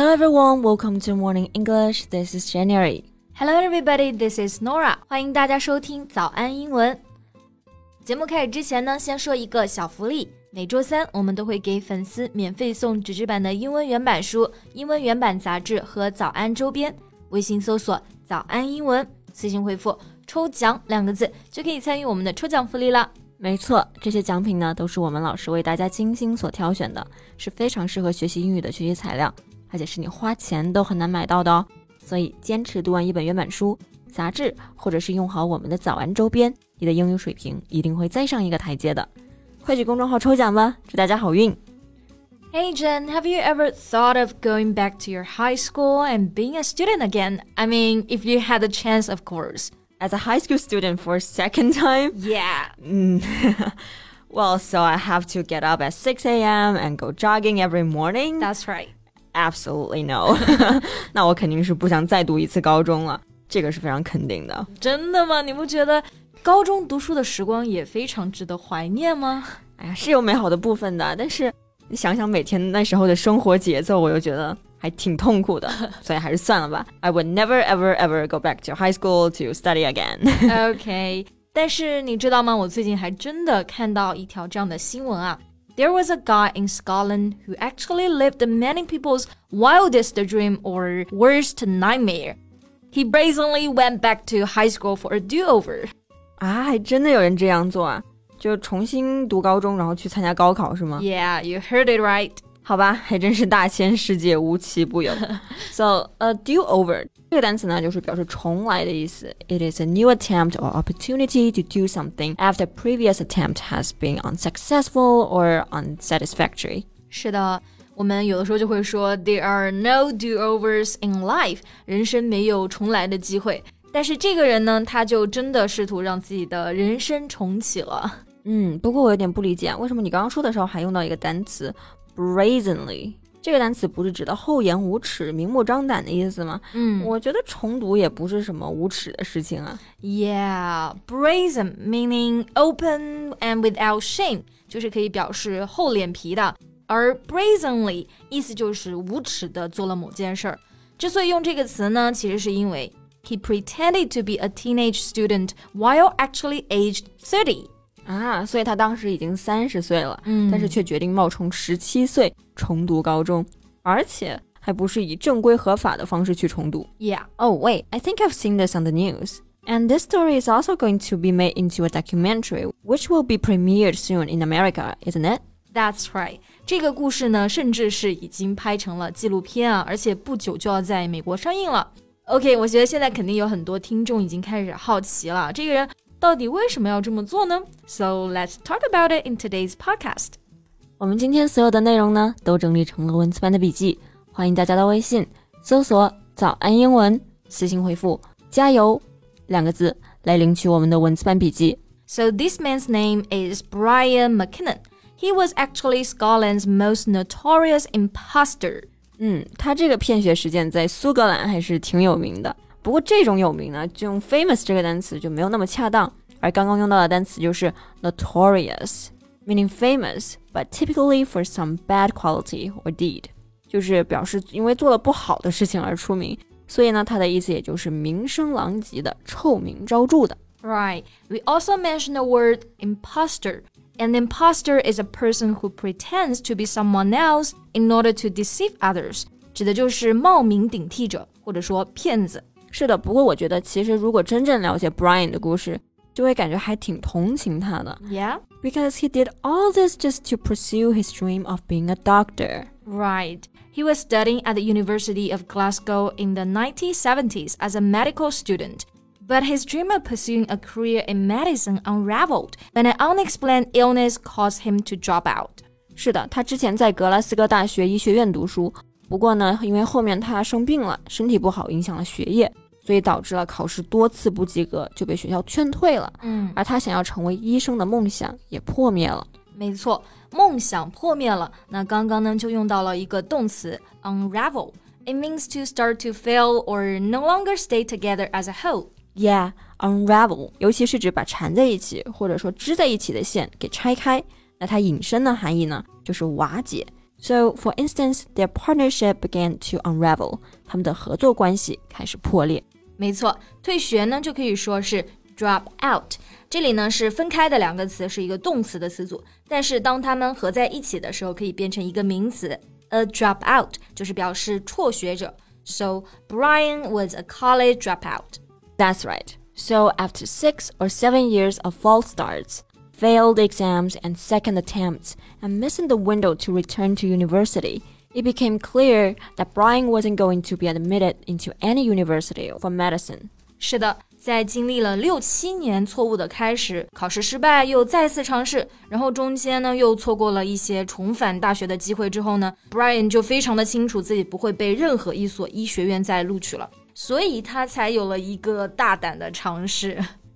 everyone, welcome to Morning English. This is January. Hello everybody, this is Nora. 欢迎大家收听早安英文。节目开始之前呢，先说一个小福利。每周三我们都会给粉丝免费送纸质版的英文原版书、英文原版杂志和早安周边。微信搜索早安英文，私信回复抽奖2个字就可以参与我们的抽奖福利了。 没错，这些奖品呢都是我们老师为大家精心所挑选的，是非常适合学习英语的学习材料，而且是你花钱都很难买到的哦。所以坚持读完一本原版书、杂志，或者是用好我们的早安周边，你的英语水平一定会再上一个台阶的。快去公众号抽奖吧，祝大家好运。 Hey Jen, have you ever thought of going back to your high school and being a student again? I mean, if you had the chance, of course. As a high school student for a second time? Yeah. Well, so I have to get up at 6 a.m. and go jogging every morning? That's right. Absolutely no. 那我肯定是不想再读一次高中了，这个是非常肯定的。 真的吗？你不觉得高中读书的时光也非常值得怀念吗？ 哎呀，是有美好的部分的，但是你想想每天那时候的生活节奏，我又觉得还挺痛苦的，所以还是算了吧。I would never ever ever go back to high school to study again. Okay, 但是你知道吗？我最近还真的看到一条这样的新闻啊。There was a guy in Scotland who actually lived many people's wildest dream or worst nightmare. He brazenly went back to high school for a do-over. 啊，还真的有人这样做啊？就重新读高中，然后去参加高考是吗？ Yeah, you heard it right. 好吧，还真是大千世界无奇不有。So, do over 这个单词呢，就是表示重来的意思。It is a new attempt or opportunity to do something after previous attempt has been unsuccessful or unsatisfactory. 是的，我们有的时候就会说 There are no do-overs in life. 人生没有重来的机会。但是这个人呢，他就真的试图让自己的人生重启了。 不过我有点不理解，为什么你刚刚说的时候还用到一个单词 brazenly？ 这个单词不是指的厚颜无耻、明目张胆的意思吗？我觉得重读也不是什么无耻的事情啊。 Yeah, brazen meaning open and without shame， 就是可以表示厚脸皮的，而 brazenly 意思就是无耻的做了某件事儿。之所以用这个词呢，其实是因为He pretended to be a teenage student while actually aged 30. 啊，所以他当时已经30岁了，但是却决定冒充17岁重读高中，而且还不是以正规合法的方式去重读。 Yeah. Oh, wait, I think I've seen this on the news. And this story is also going to be made into a documentary, which will be premiered soon in America, isn't it? That's right. 这个故事呢，甚至是已经拍成了纪录片啊，而且不久就要在美国上映了。OK， 我觉得现在肯定有很多听众已经开始好奇了，这个人到底为什么要这么做呢？ So let's talk about it in today's podcast. 我们今天所有的内容呢，都整理成了文字版的笔记，欢迎大家到微信搜索早安英文，私信回复加油2个字来领取我们的文字版笔记。 So this man's name is Brian McKinnon. He was actually Scotland's most notorious imposter. 他这个骗学事件在苏格兰还是挺有名的，不过这种有名呢，就用 famous 这个单词就没有那么恰当，而刚刚用到的单词就是 notorious meaning famous but typically for some bad quality or deed， 就是表示因为做了不好的事情而出名，所以呢它的意思也就是名声狼藉的、臭名昭著的。 Right, we also mentioned the word imposter.An imposter is a person who pretends to be someone else in order to deceive others. 指的就是冒名顶替者，或者说骗子。 是的，不过我觉得其实如果真正了解 Brian 的故事，就会感觉还挺同情他的。 Yeah? Because he did all this just to pursue his dream of being a doctor. Right. He was studying at the University of Glasgow in the 1970s as a medical student.But his dream of pursuing a career in medicine unraveled when an unexplained illness caused him to drop out. 是的，他之前在格拉斯哥大学医学院读书，不过呢，因为后面他生病了，身体不好，影响了学业，所以导致了考试多次不及格，就被学校劝退了。而他想要成为医生的梦想也破灭了。 没错，梦想破灭了。那刚刚呢，就用到了一个动词 unravel。It means to start to fail or no longer stay together as a whole.Yeah, unravel 尤其是指把缠在一起或者说织在一起的线给拆开，那它引申的含义呢就是瓦解， So, for instance, their partnership began to unravel. 他们的合作关系开始破裂。 没错，退学呢就可以说是 drop out。这里呢是分开的两个词，是一个动词的词组，但是当它们合在一起的时候，可以变成一个名词。A dropout 就是表示辍学者。So, Brian was a college dropout. That's right. So, after 6 or 7 years of false starts, failed exams and second attempts, and missing the window to return to university, it became clear that Brian wasn't going to be admitted into any university for medicine. 是的，在经历了6、7年错误的开始，考试失败又再次尝试，然后中间呢又错过了一些重返大学的机会之后呢 Brian 就非常的清楚自己不会被任何一所医学院再录取了，所以他才有了一个大胆的尝试。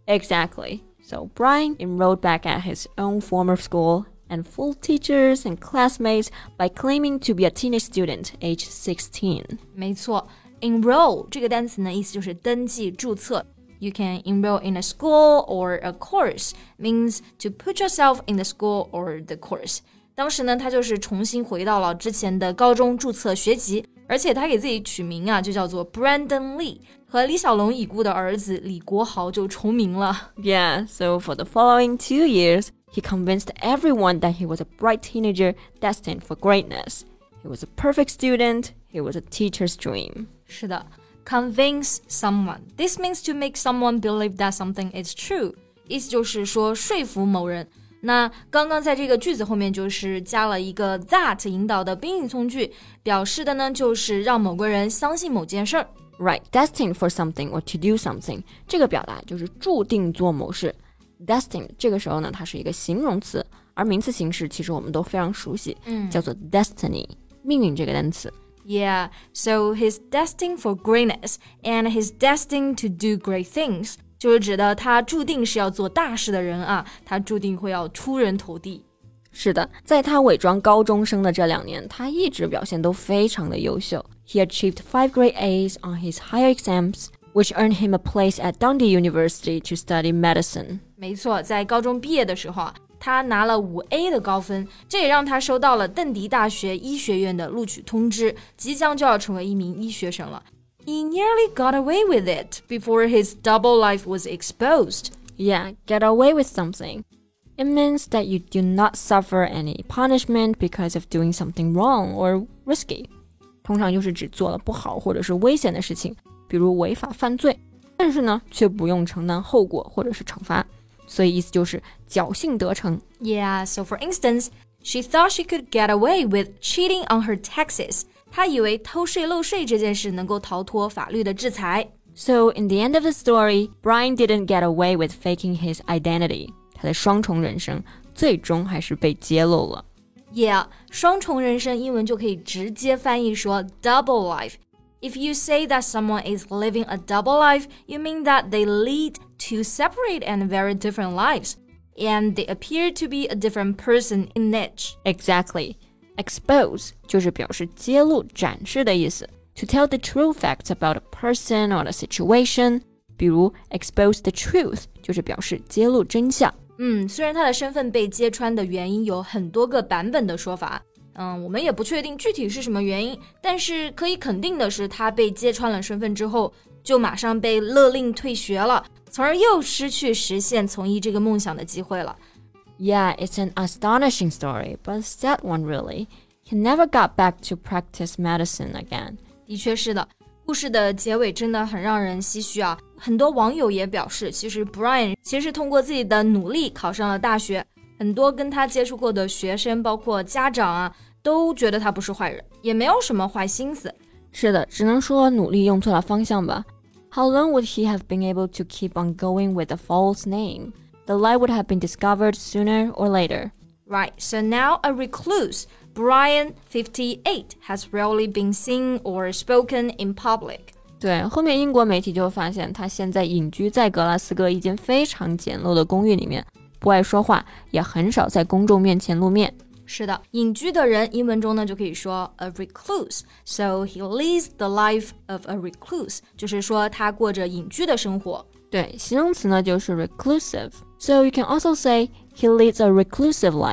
Exactly.So Brian enrolled back at his own former school and fooled teachers and classmates by claiming to be a teenage student aged 16. 没错 enroll 这个单词呢意思就是登记注册。You can enroll in a school or a course means to put yourself in the school or the course. 当时呢他就是重新回到了之前的高中注册学籍，而且他给自己取名啊就叫做 Brandon Lee， 和李小龙已故的儿子李国豪就重名了。 Yeah, so for the following 2 years, he convinced everyone that he was a bright teenager destined for greatness. He was a perfect student. He was a teacher's dream. 是的 convince someone. This means to make someone believe that something is true. 意思就是说说服某人。那刚刚在这个句子后面就是加了一个 that 引导的宾语从句，表示的呢就是让某个人相信某件事儿。 Right, destined for something or to do something. 这个表达就是注定做某事。Destined 这个时候呢，它是一个形容词，而名词形式其实我们都非常熟悉，叫做 destiny, 命运这个单词。 Yeah, so he's destined for greatness and he's destined to do great things. 就是指的他注定是要做大事的人啊，他注定会要出人头地。 是的，在他伪装高中生的这2年，他一直表现都非常的优秀。He achieved 5 grade A's on his higher exams, which earned him a place at Dundee University to study medicine. 没错，在高中毕业的时候啊，他拿了5A 的高分，这也让他收到了邓迪大学医学院的录取通知，即将就要成为一名医学生了。He nearly got away with it before his double life was exposed. Yeah, get away with something. It means that you do not suffer any punishment because of doing something wrong or risky. 通常就是指做了不好或者是危险的事情，比如违法犯罪，但是呢，却不用承担后果或者是惩罚。所以意思就是侥幸得逞。 Yeah, so for instance, she thought she could get away with cheating on her taxes. 她以为偷税漏税这件事能够逃脱法律的制裁。 So in the end of the story, Brian didn't get away with faking his identity. 他的双重人生最终还是被揭露了。 Yeah, 双重人生英文就可以直接翻译说 double life. If you say that someone is living a double life, you mean that they lead two separate and very different lives, and they appear to be a different person in each. Exactly. Expose 就是表示揭露、展示的意思。To tell the true facts about a person or a situation, 比如 expose the truth 就是表示揭露真相。 虽然他的身份被揭穿的原因有很多个版本的说法，我们也不确定具体是什么原因，但是可以肯定的是，他被揭穿了身份之后，就马上被勒令退学了，从而又失去实现从医这个梦想的机会了。 Yeah, it's an astonishing story, but a sad one really. He never got back to practice medicine again. 的确是的，故事的结尾真的很让人唏嘘啊！很多网友也表示，其实 Brian 其实是通过自己的努力考上了大学，很多跟他接触过的学生，包括家长啊，都觉得他不是坏人，也没有什么坏心思。 是的，只能说努力用错了方向吧。How long would he have been able to keep on going with a false name? The lie would have been discovered sooner or later. Right, so now a recluse, Brian, 58, has rarely been seen or spoken in public. 对，后面英国媒体就发现他现在隐居在格拉斯哥一间非常简陋的公寓里面，不爱说话，也很少在公众面前露面。 是的，隐居的人英文中呢就可以说 a recluse. So he leads the life of a recluse. 就是说他过着隐居的生活。 对，形容词呢就是 reclusive. So you can also say he leads a reclusive life.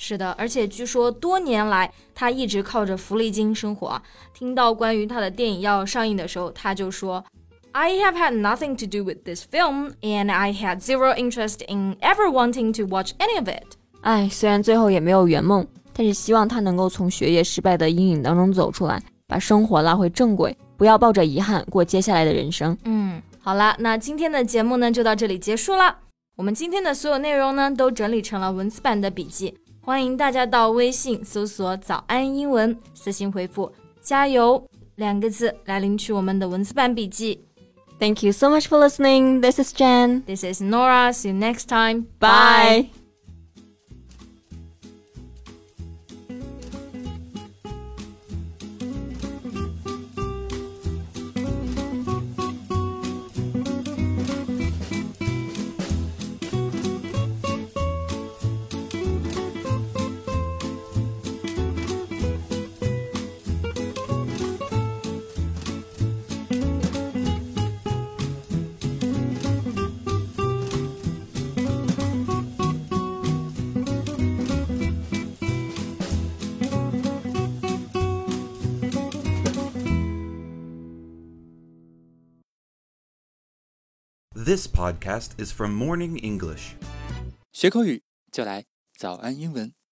是的，而且据说多年来他一直靠着福利金生活。听到关于他的电影要上映的时候，他就说 I have had nothing to do with this film and I had zero interest in ever wanting to watch any of it。 虽然最后也没有圆梦，但是希望他能够从学业失败的阴影当中走出来，把生活拉回正轨，不要抱着遗憾过接下来的人生。 好了，那今天的节目呢就到这里结束了。我们今天的所有内容呢都整理成了文字版的笔记，欢迎大家到微信搜索早安英文，私信回复加油2个字来领取我们的文字版笔记。 Thank you so much for listening. This is Jen. This is Nora. See you next time. Bye. This podcast is from Morning English. 学口语就来早安英文。